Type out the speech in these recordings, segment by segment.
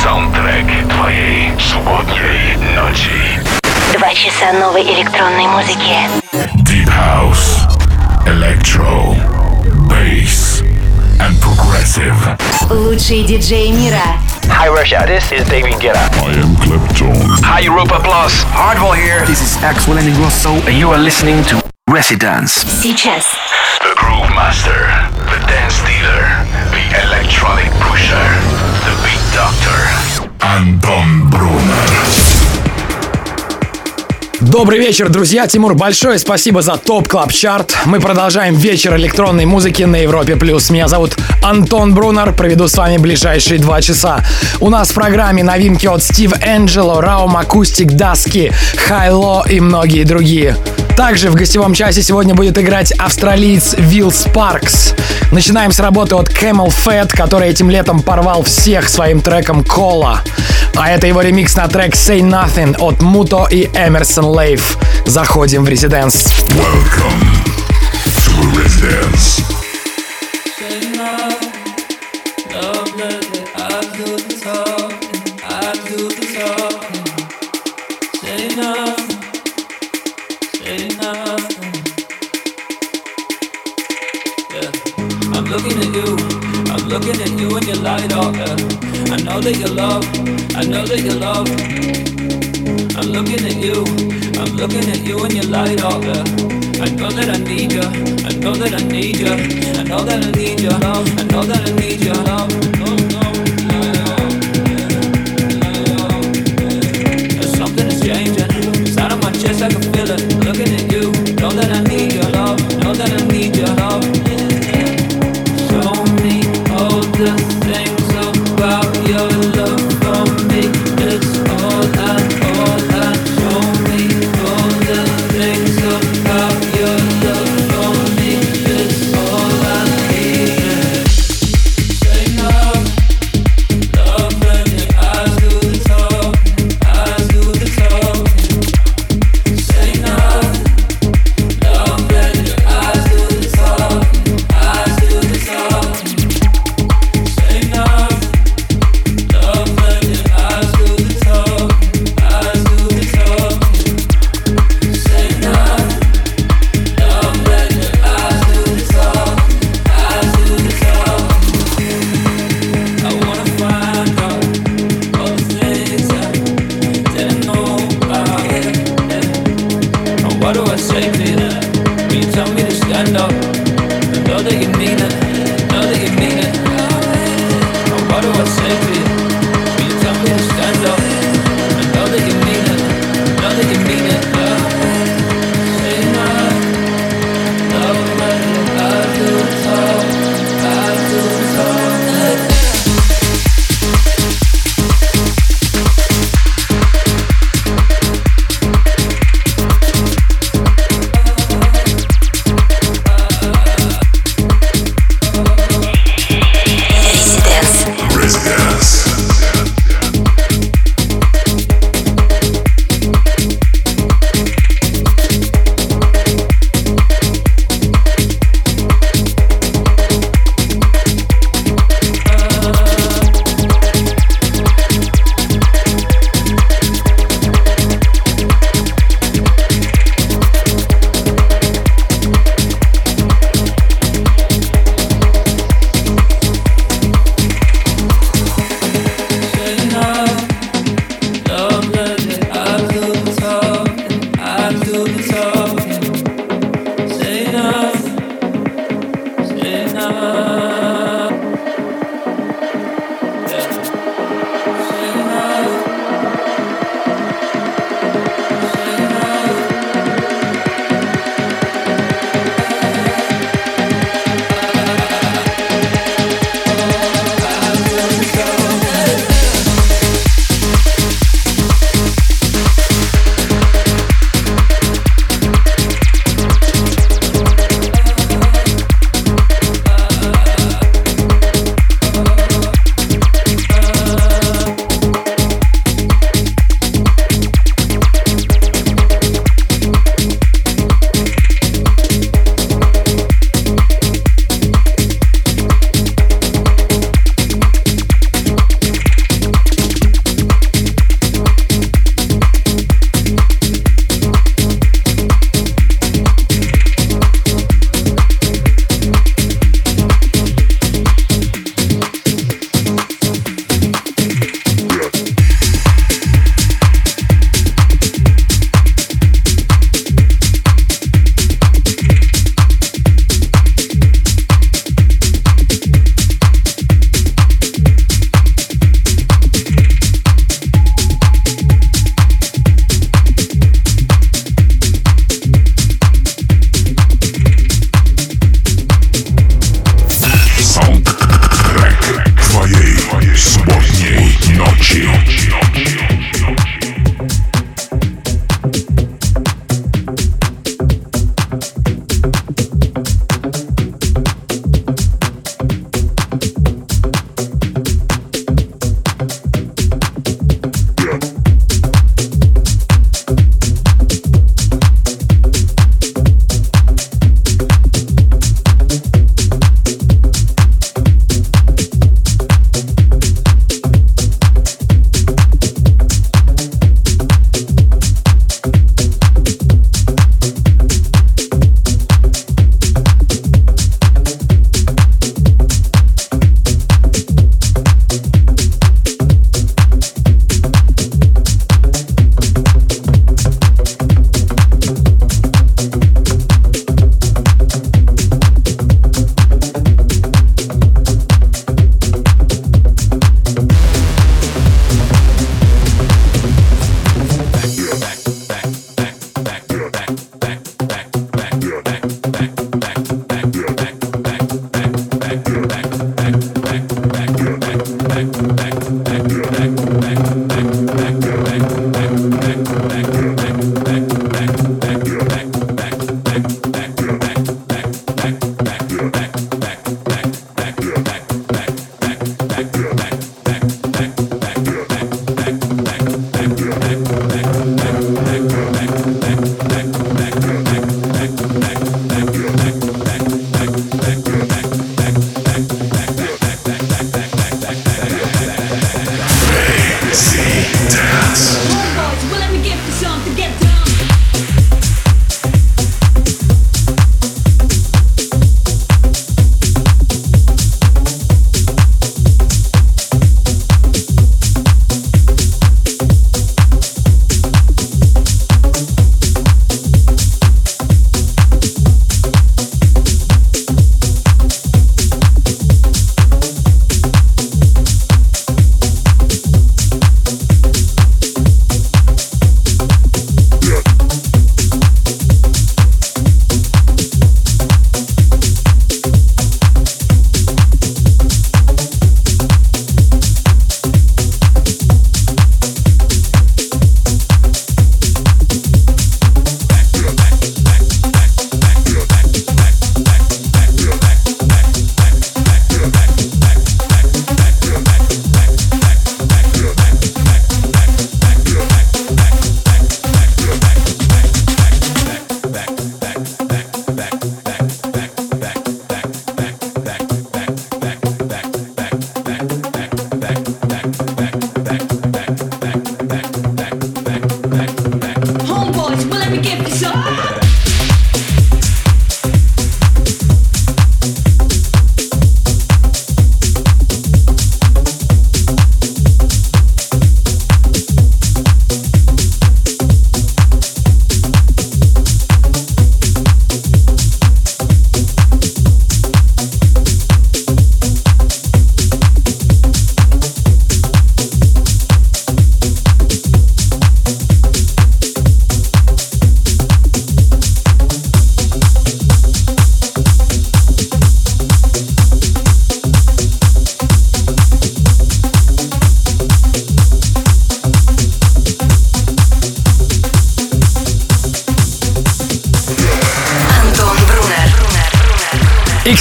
Саундтрек твоей субботней ночи. 2 часа новой электронной музыки. Deep House, Electro, Bass and Progressive. Лучшие диджеи мира. Hi Russia, this is David Guetta. I am Clapton. Hi Europa Plus. Hardwell here. This is Axel and Ingrosso, and you are listening to Residence. Сейчас. The Groove Master, the Dance Dealer, the Electronic Pusher, the Beat Doctor. Антон Брунер. Добрый вечер, друзья. Тимур, большое спасибо за ТОП Клаб Чарт. Мы продолжаем вечер электронной музыки на Европе+. Меня зовут Антон Брунер. Проведу с вами ближайшие 2 часа. У нас в программе новинки от Стив Энджело, Raum Acoustic Dusky, Hi-Lo и многие другие. Также в гостевом часе сегодня будет играть австралиец Will Sparks. Начинаем с работы от Camel Fat, который этим летом порвал всех своим треком Cola. А это его ремикс на трек Say Nothing от Муто и Эмерсон Лейв. Заходим в Residence. Welcome to Residence. Looking at you and you light up, yeah. I know that you love, I know that you love. I'm looking at you and you light up, yeah. I know that I need you, I know that I need you, I know that I need your love, I know that I need your love. There's something that's changing inside of my chest, I can feel it. Looking at you, know that I need your love, know that I need your love. The things about your love for me, it's all I show me. All the things about your love for me, it's all I need.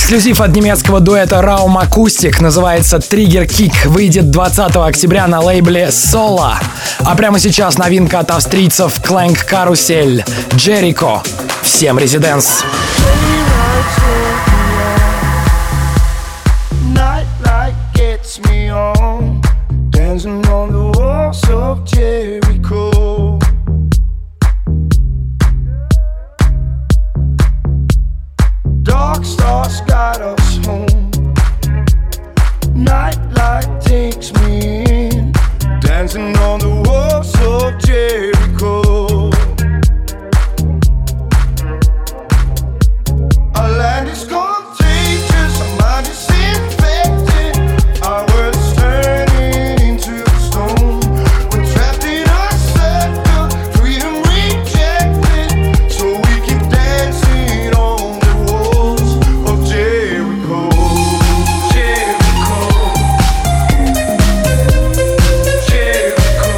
Эксклюзив от немецкого дуэта Raum Acoustic называется Trigger Kick. Выйдет 20 октября на лейбле Sola. А прямо сейчас новинка от австрийцев Clank Carousel. Jericho. Всем резиденс. Dancing on the walls of Jericho. Dark stars guide us home. Nightlight takes me in. Dancing on the walls of Jericho. Our land is contagious, our mind is infected. Our world is turning into stone. We're trapped in a circle, freedom rejected. So we keep dancing on the walls of Jericho. Jericho. Jericho.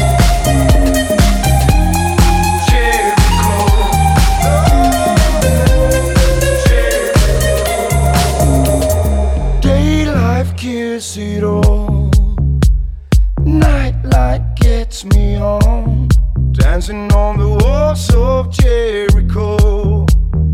Jericho. Daylight kills it all. Nightlight gets me on. Dancing on the walls of Jericho.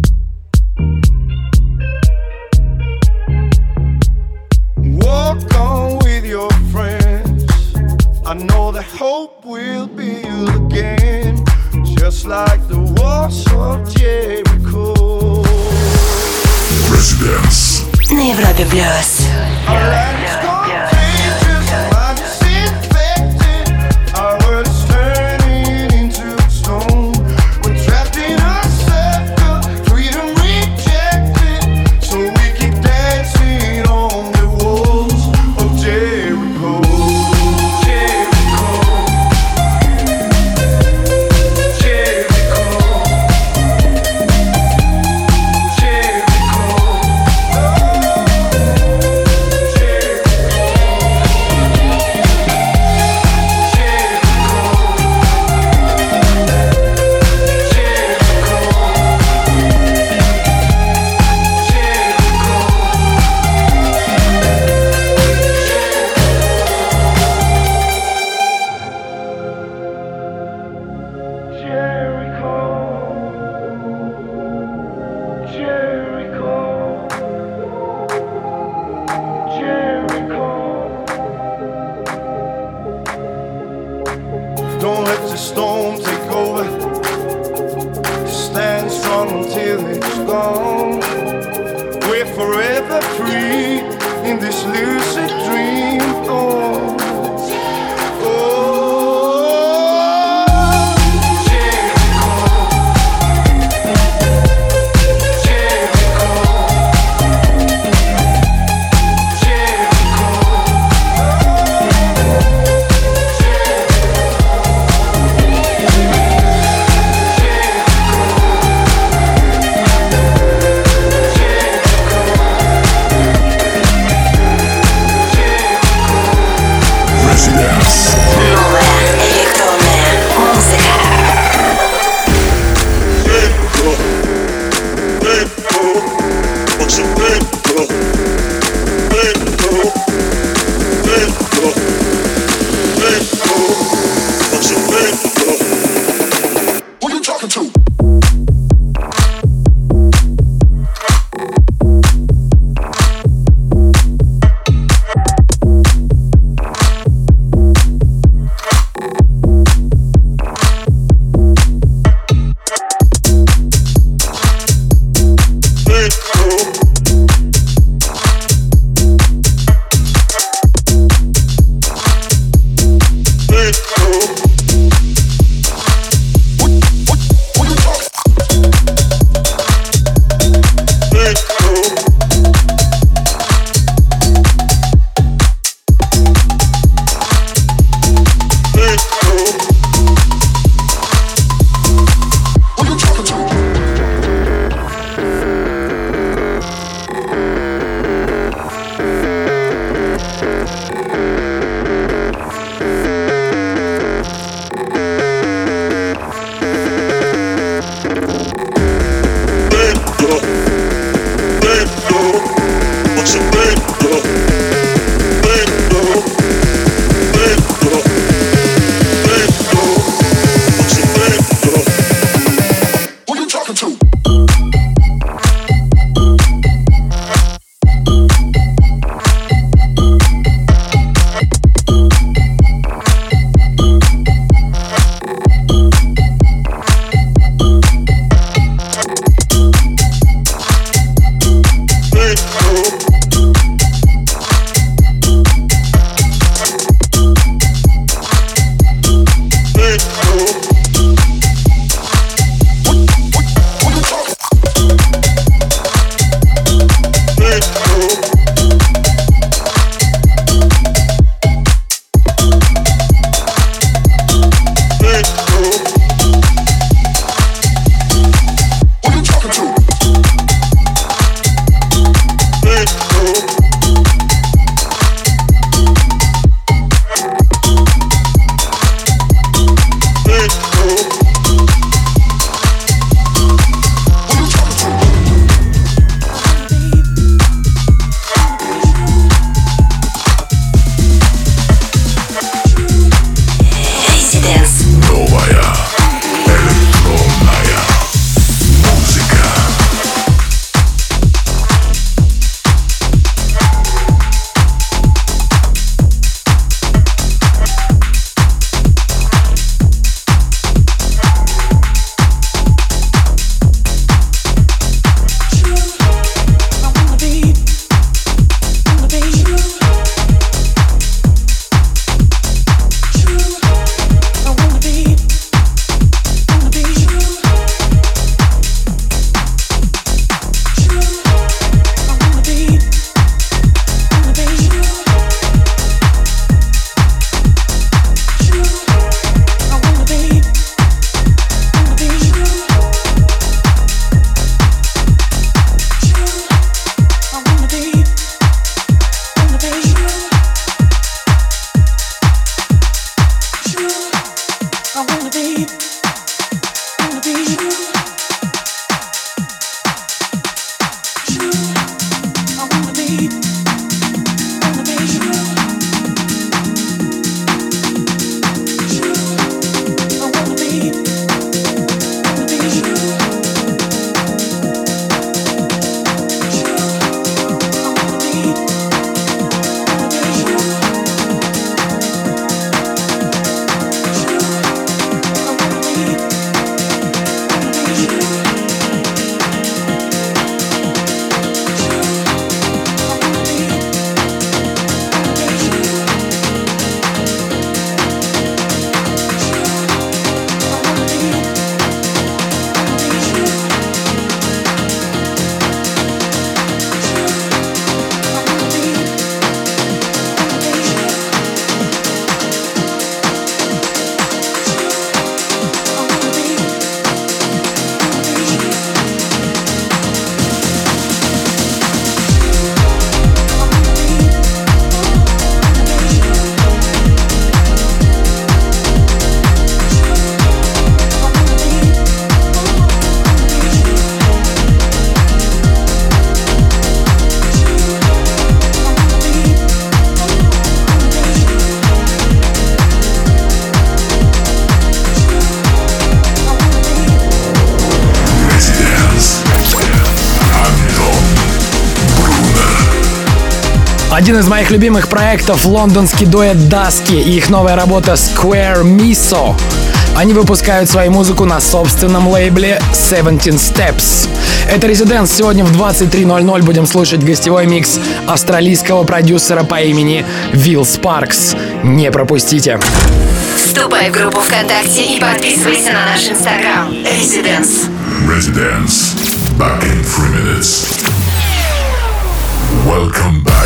Walk on with your friends. I know that hope will build again, just like the walls of Jericho. Residence. На Европе плюс. Our land is contagious, our mind is infected. Our world is turning into stone. We're trapped in a circle, freedom rejected. So we keep dancing on the walls of Jericho. Jericho. Jericho. Jericho. Jericho. Один из моих любимых проектов — лондонский дуэт Dusky и их новая работа Square Miso. Они выпускают свою музыку на собственном лейбле 17 Steps. Это Residence. Сегодня в 23:00 будем слушать гостевой микс австралийского продюсера по имени Will Sparks. Не пропустите. Вступай в группу ВКонтакте и подписывайся на наш Инстаграм. Residence. Residence. Back in 3 minutes. Welcome back.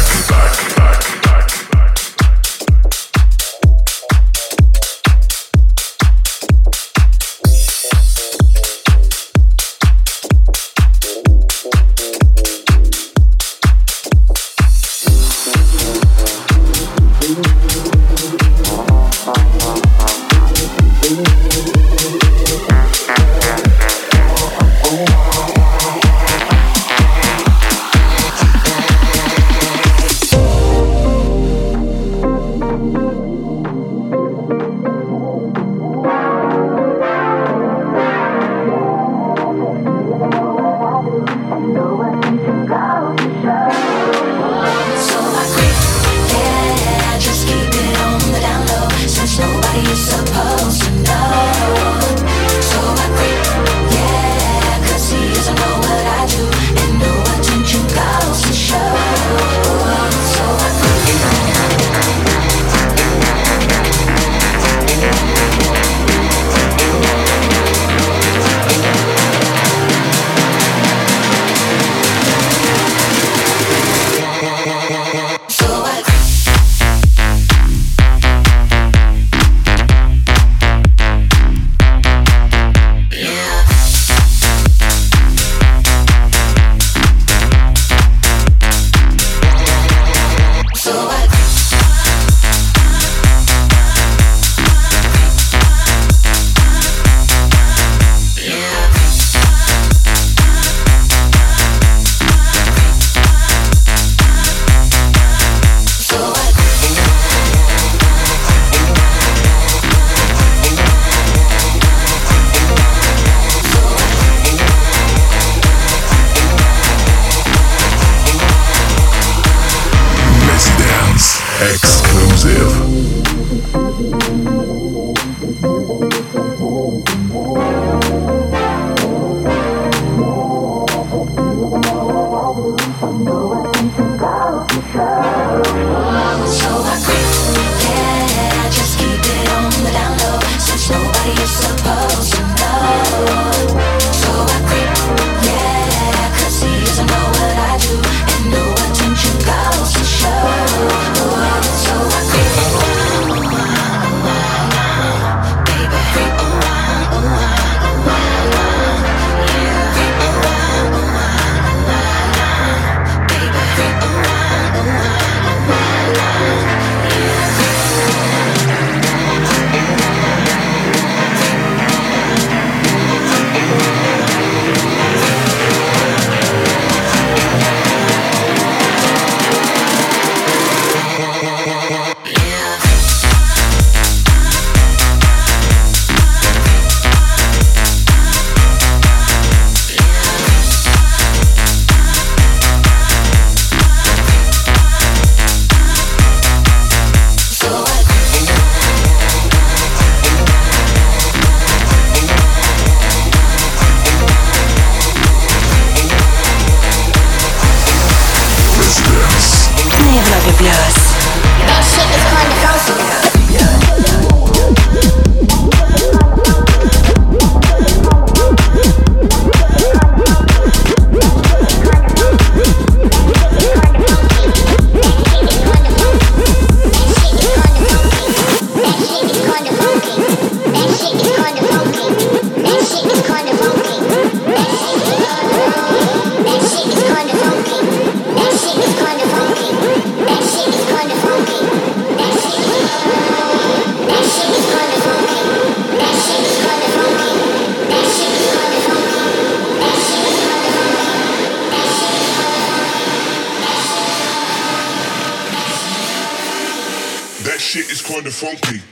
shit is kinda funky.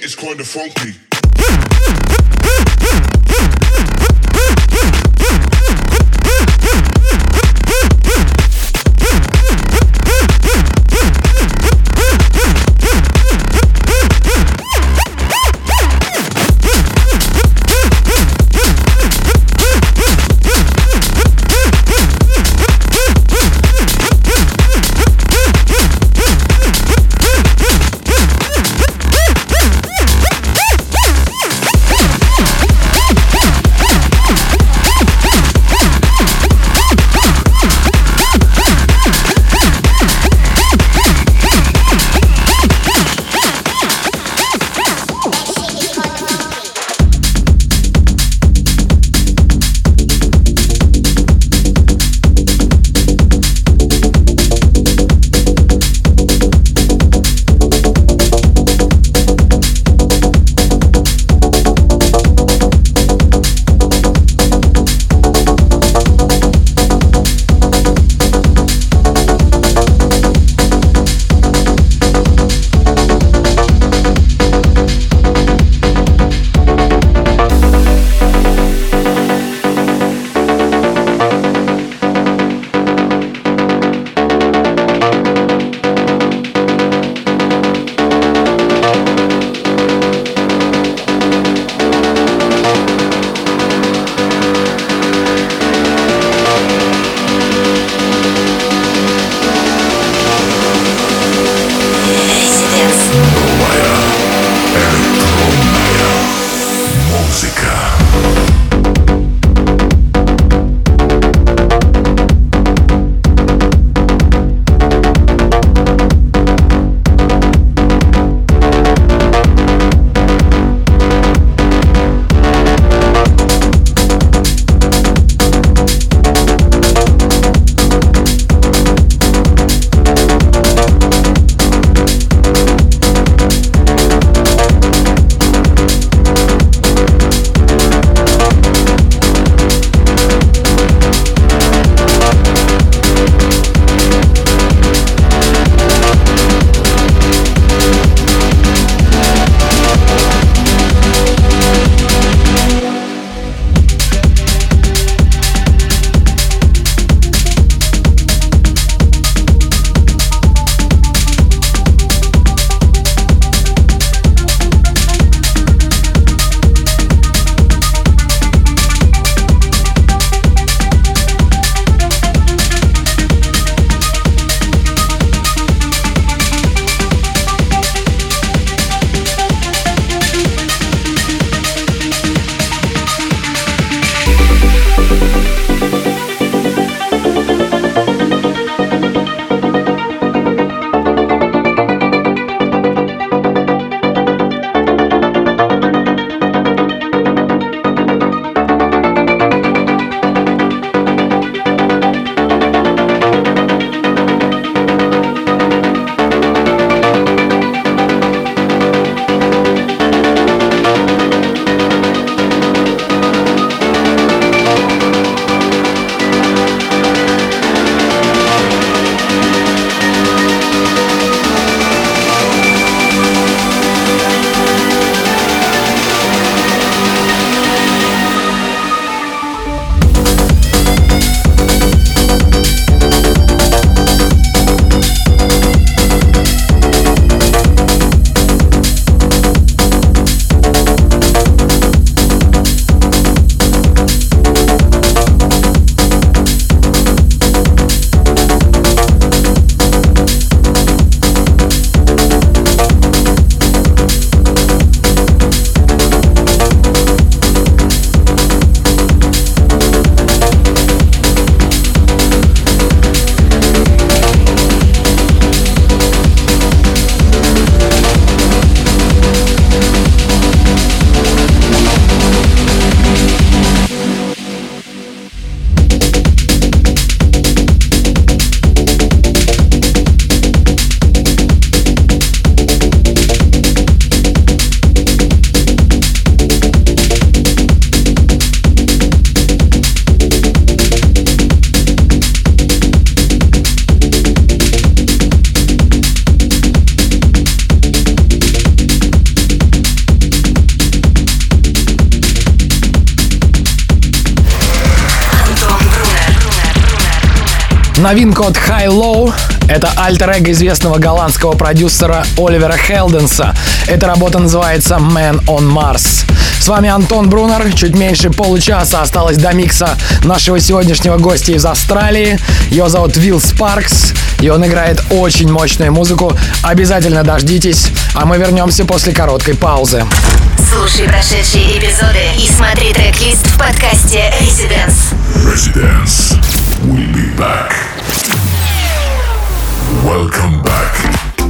shit is kinda funky. Новинка от High Low — это альтер-эго известного голландского продюсера Оливера Хелденса. Эта работа называется Man on Mars. С вами Антон Брунер. Чуть меньше получаса осталось до микса нашего сегодняшнего гостя из Австралии. Его зовут Will Sparks, и он играет очень мощную музыку. Обязательно дождитесь, а мы вернемся после короткой паузы. Слушай прошедшие эпизоды и смотри трек-лист в подкасте Residence. Residence. We'll be back. Welcome back.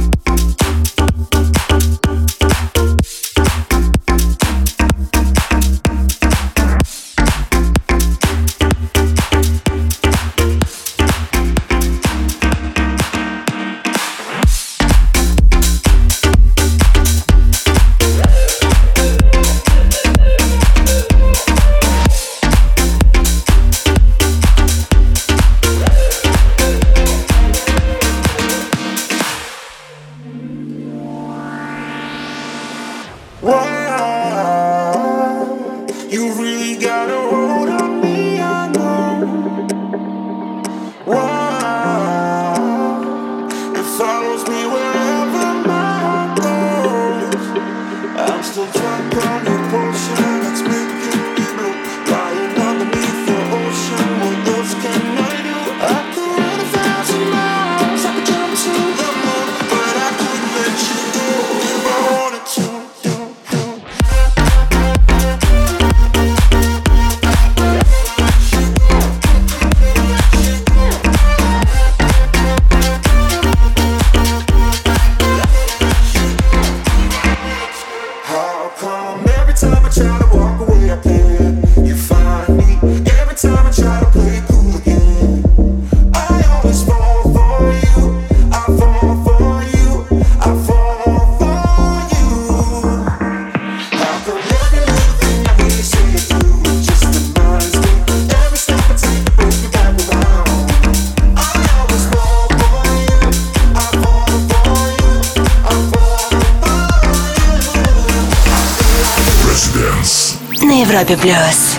На Европе Плюс.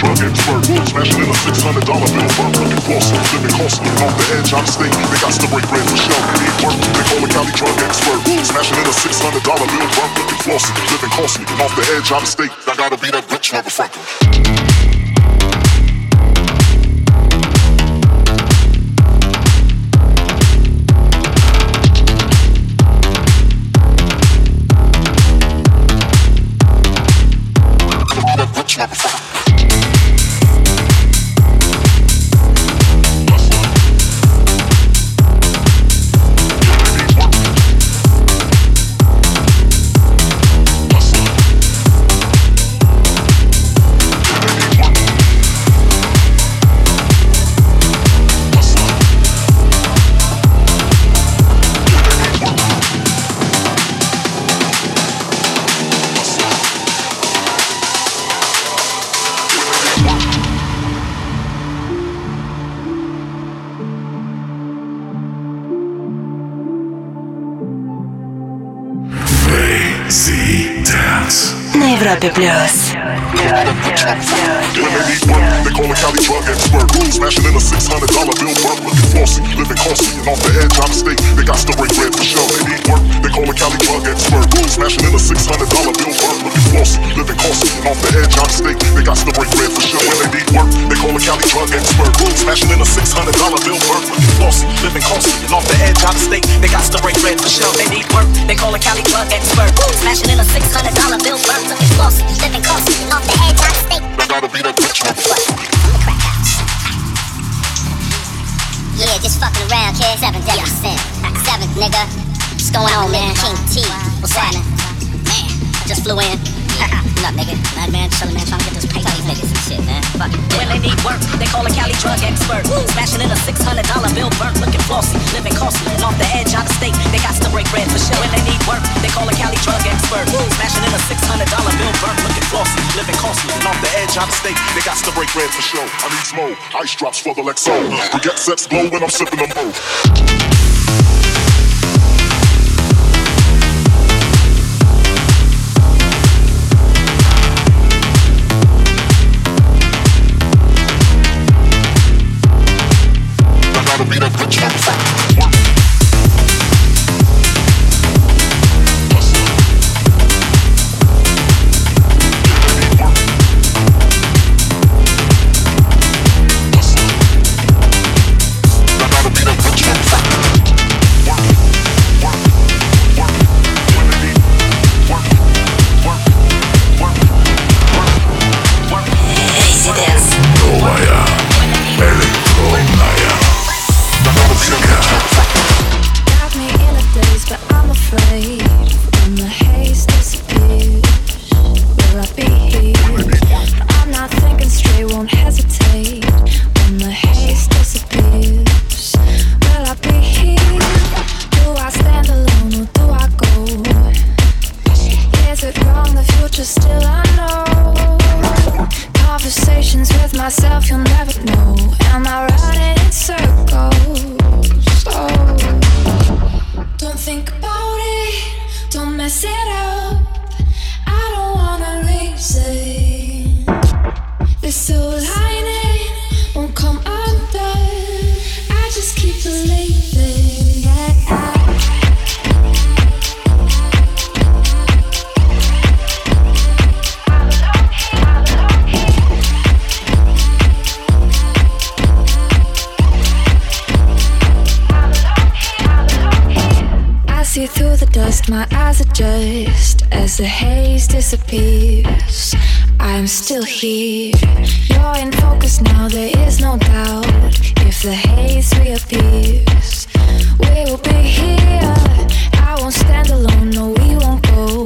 drug expert. Smashing in a $600 bill, work looking flossy, living costly. Off the edge, out of state, they got to break bread for show. They need work, they call a Cali drug expert. Smashing in a $600 bill, work looking flossy, living costly. Off the edge, out of state, I gotta be that rich motherfucker. На Европе плюс. When they need work, they call a Cali drug expert. Smashing in a $600 bill, work looking flossy, living costly. And off the edge, out of state, they got to break bread for show. They need work, they call a Cali drug expert. Smashing in a $600 bill, work looking flossy, living costly. And off the edge, out of state, they got to break bread for show. When they need work, they call a Cali drug expert. Smashing in a $600 bill, work looking flossy, living costly. And off the edge, out of state, they got to break bread for show. They need work, they call a Cali drug expert. Smashing in a $600 bill, work looking flossy, living costly. And off the edge, out of state. I gotta be that rich motherfucker. Yeah, just fucking around, kid. 7th, 7th, nigga. What's going on, man? King T. What's happening? Man, I just flew in. What up, nigga? Man, chillin', man, trying to get this paper. These niggas and shit, man. Fuck it. When they need work, they call a Cali drug expert. Smashing in a $600 bill, burnt, looking flossy, living costly. And off the edge, out of state, they got to break bread for sure. When they need work, they call a Cali drug expert. Smashing in a $600 bill, burnt, looking flossy, living costly. And off the edge, out of state, they got to break bread for show. I need smoke, ice drops for the Lexo. We get sets glow when I'm sipping them both. Be that rich motherfucker. My eyes adjust as the haze disappears. I'm still here. You're in focus now, there is no doubt. If the haze reappears, we will be here. I won't stand alone, no, we won't go.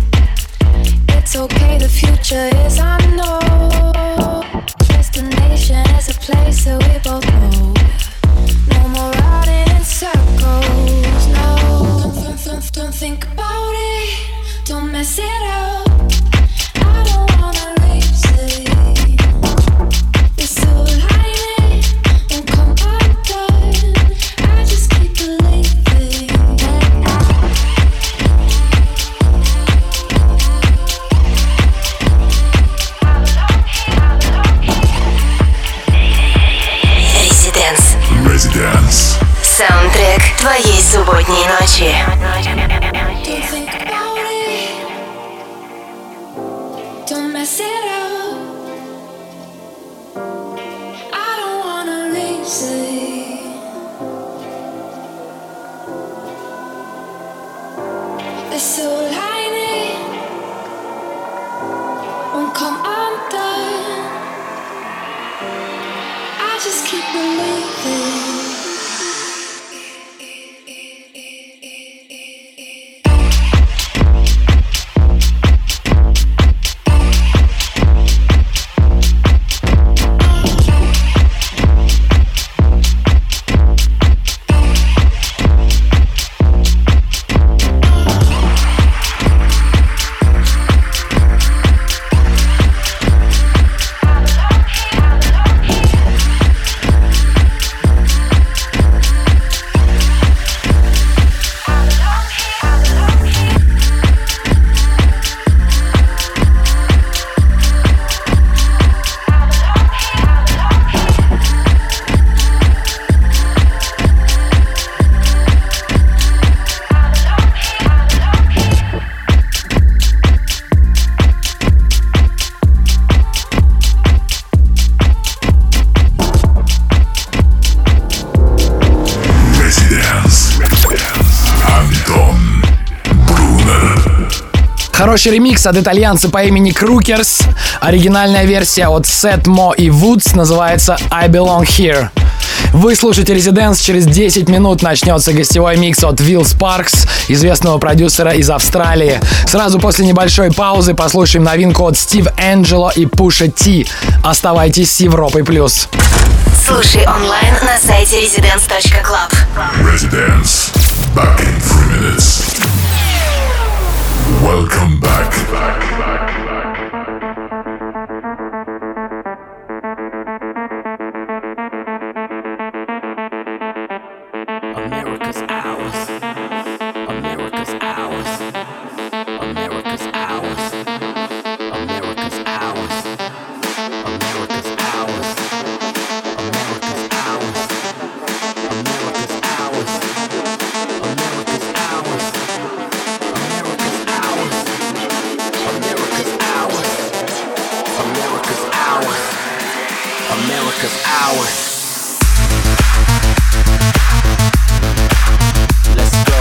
It's okay, the future is unknown. Destination is a place that we both know. No more riding in circles, no. Don't think about it, don't mess it up. I don't wanna race it. This silver lining won't come undone. I just keep believing. ночи. Don't mess it up. I don't wanna lose it. The silver lining won't come undone. I just keep believing. Хороший ремикс от итальянца по имени Крукерс. Оригинальная версия от Seth Mo и Woods называется I Belong Here. Вы слушаете Residence, через 10 минут начнется гостевой микс от Will Sparks, известного продюсера из Австралии. Сразу после небольшой паузы послушаем новинку от Steve Angelo и Pusha T. Оставайтесь с Европой+. Слушай онлайн на сайте residence.club. Residence. Back in 3 minutes. Welcome back. America's ours. America's ours. America's ours. America's ours. America's ours. America's ours. America's ours. America's ours. America's ours. America's ours. America's ours. America's ours. Let's go.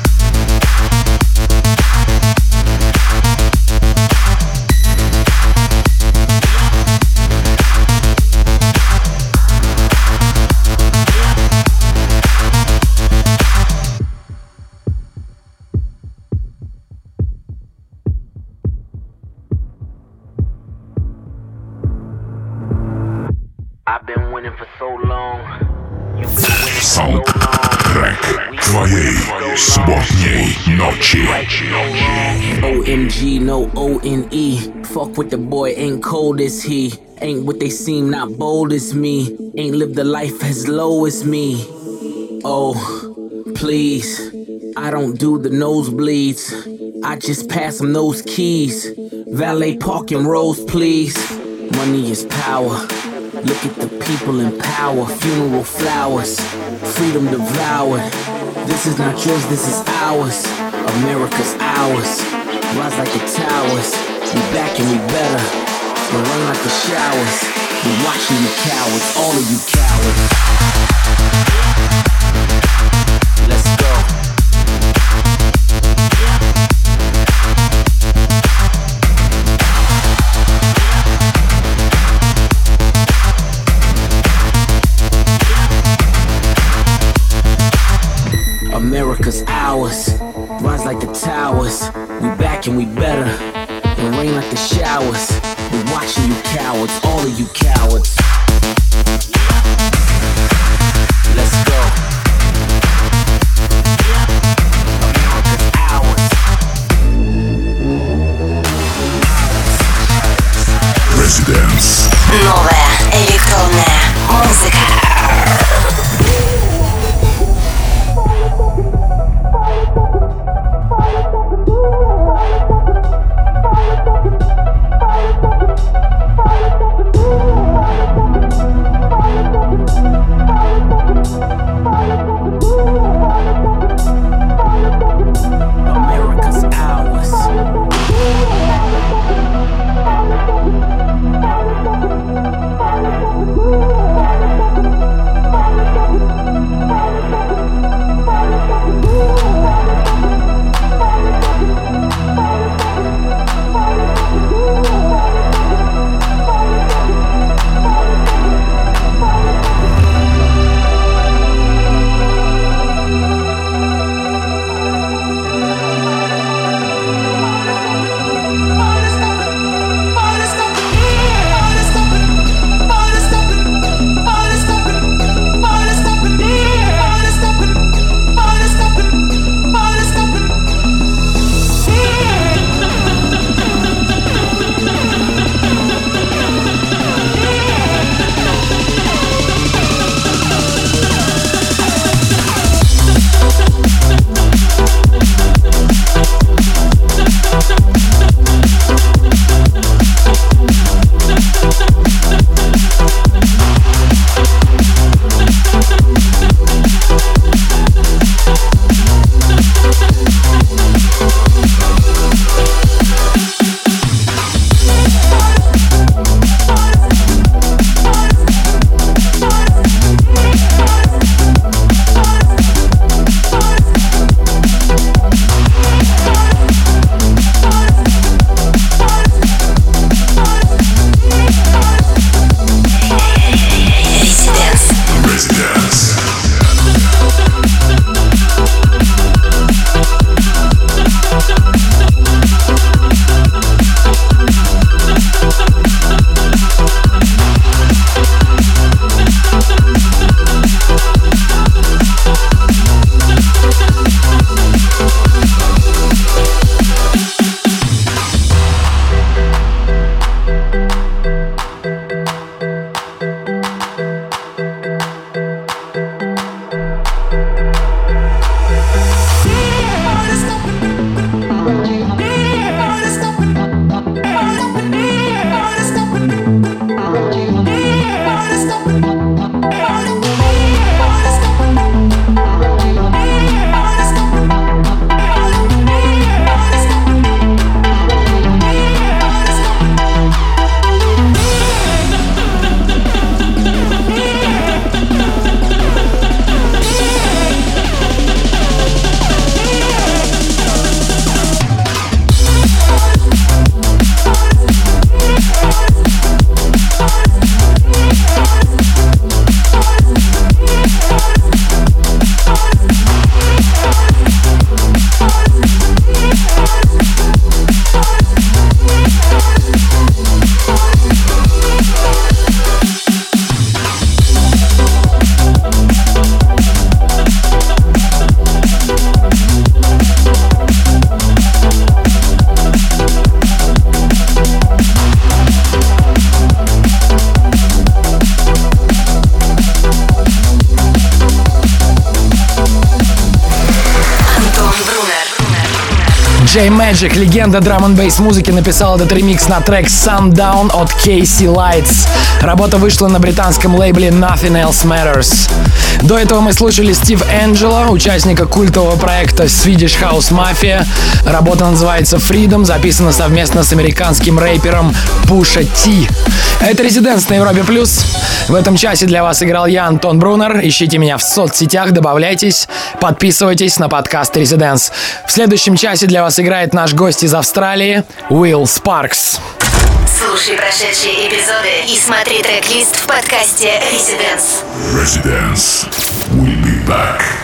I've been winning for so long. You've been winning for so long. Саундтрек твоей субботней ночи. OMG, no ONE. Fuck with the boy, ain't cold as he. Ain't what they seem, not bold as me. Ain't lived a life as low as me. Oh, please. I don't do the nosebleeds. I just pass them those keys. Valet parking rows, please. Money is power. Look at the people in power. Funeral flowers. Freedom devoured. This is not yours, this is ours. America's ours. Rise like the towers. We back and we better. We run like the showers. We watching you cowards. All of you cowards. Let's go. America's ours, rise like the towers. We back and we better. It rain like the showers. We watching you cowards, all of you cowards. Let's go. America's ours. Residence. Новая электронная музыка. DJ Magic, легенда драм-н-бейс музыки, написал этот ремикс на трек Sundown от Casey Lights. Работа вышла на британском лейбле Nothing Else Matters. До этого мы слушали Стив Энджело, участника культового проекта Swedish House Mafia. Работа называется Freedom, записана совместно с американским рэпером Pusha T. Это Резиденс на Европе Плюс. В этом часе для вас играл я, Антон Брунер. Ищите меня в соцсетях, добавляйтесь, подписывайтесь на подкаст Резиденс. В следующем часе для вас играет наш гость из Австралии Уилл Спаркс. Слушай прошедшие эпизоды и смотри трек-лист в подкасте Residence. Residence. We'll be back.